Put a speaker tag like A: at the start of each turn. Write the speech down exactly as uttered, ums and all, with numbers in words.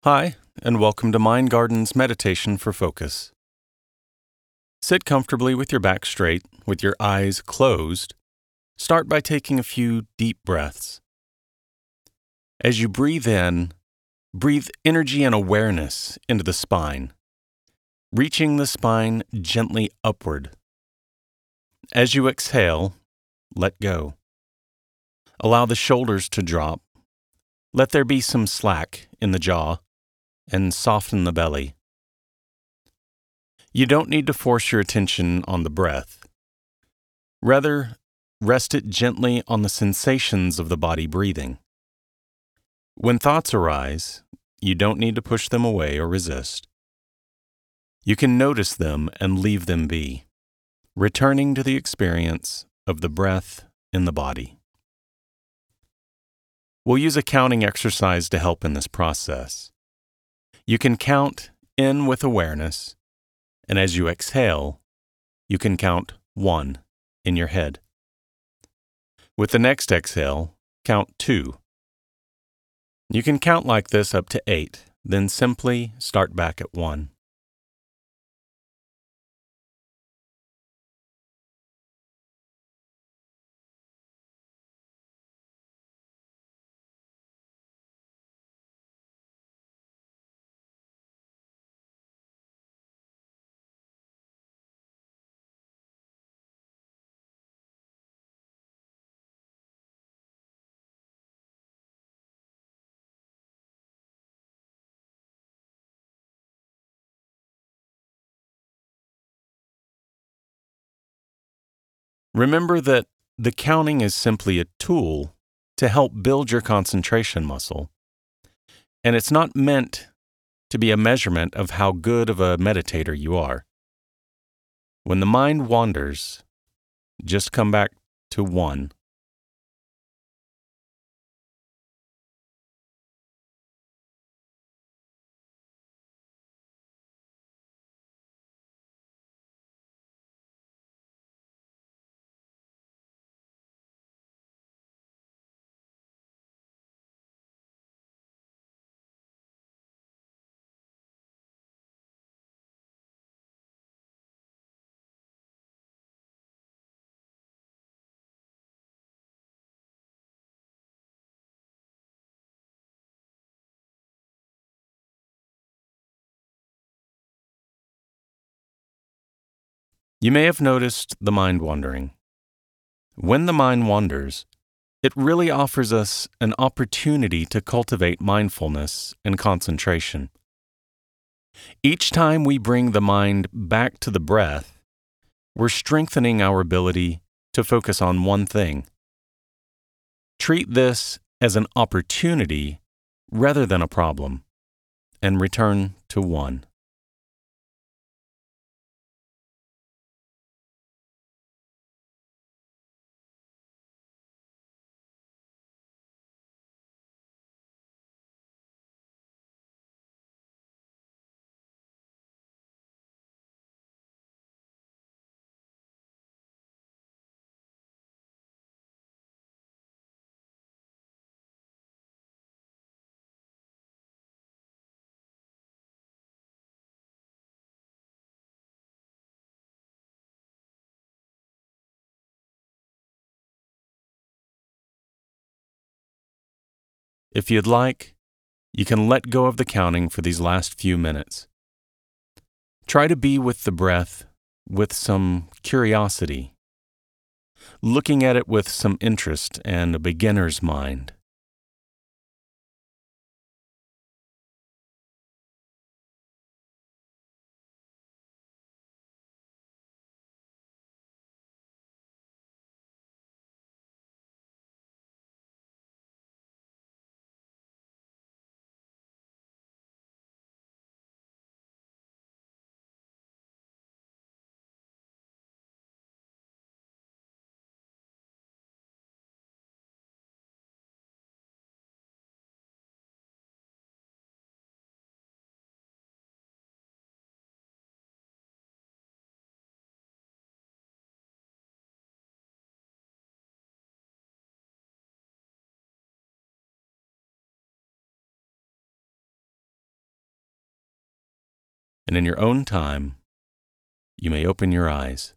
A: Hi, and welcome to Mind Garden's Meditation for Focus. Sit comfortably with your back straight, with your eyes closed. Start by taking a few deep breaths. As you breathe in, breathe energy and awareness into the spine, reaching the spine gently upward. As you exhale, let go. Allow the shoulders to drop. Let there be some slack in the jaw, and soften the belly. You don't need to force your attention on the breath. Rather, rest it gently on the sensations of the body breathing. When thoughts arise, you don't need to push them away or resist. You can notice them and leave them be, returning to the experience of the breath in the body. We'll use a counting exercise to help in this process. You can count in with awareness, and as you exhale, you can count one in your head. With the next exhale, count two. You can count like this up to eight, then simply start back at one. Remember that the counting is simply a tool to help build your concentration muscle, and it's not meant to be a measurement of how good of a meditator you are. When the mind wanders, just come back to one. You may have noticed the mind wandering. When the mind wanders, it really offers us an opportunity to cultivate mindfulness and concentration. Each time we bring the mind back to the breath, we're strengthening our ability to focus on one thing. Treat this as an opportunity rather than a problem, and return to one. If you'd like, you can let go of the counting for these last few minutes. Try to be with the breath with some curiosity, looking at it with some interest and a beginner's mind. and in your own time, you may open your eyes.